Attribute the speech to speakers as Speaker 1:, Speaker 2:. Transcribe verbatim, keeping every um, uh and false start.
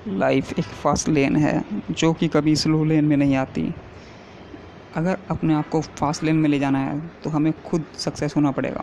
Speaker 1: Life एक fast lane है जो कि कभी स्लो लेन में नहीं आती। अगर अपने आप को फास्ट लेन में ले जाना है तो हमें खुद सक्सेस होना पड़ेगा।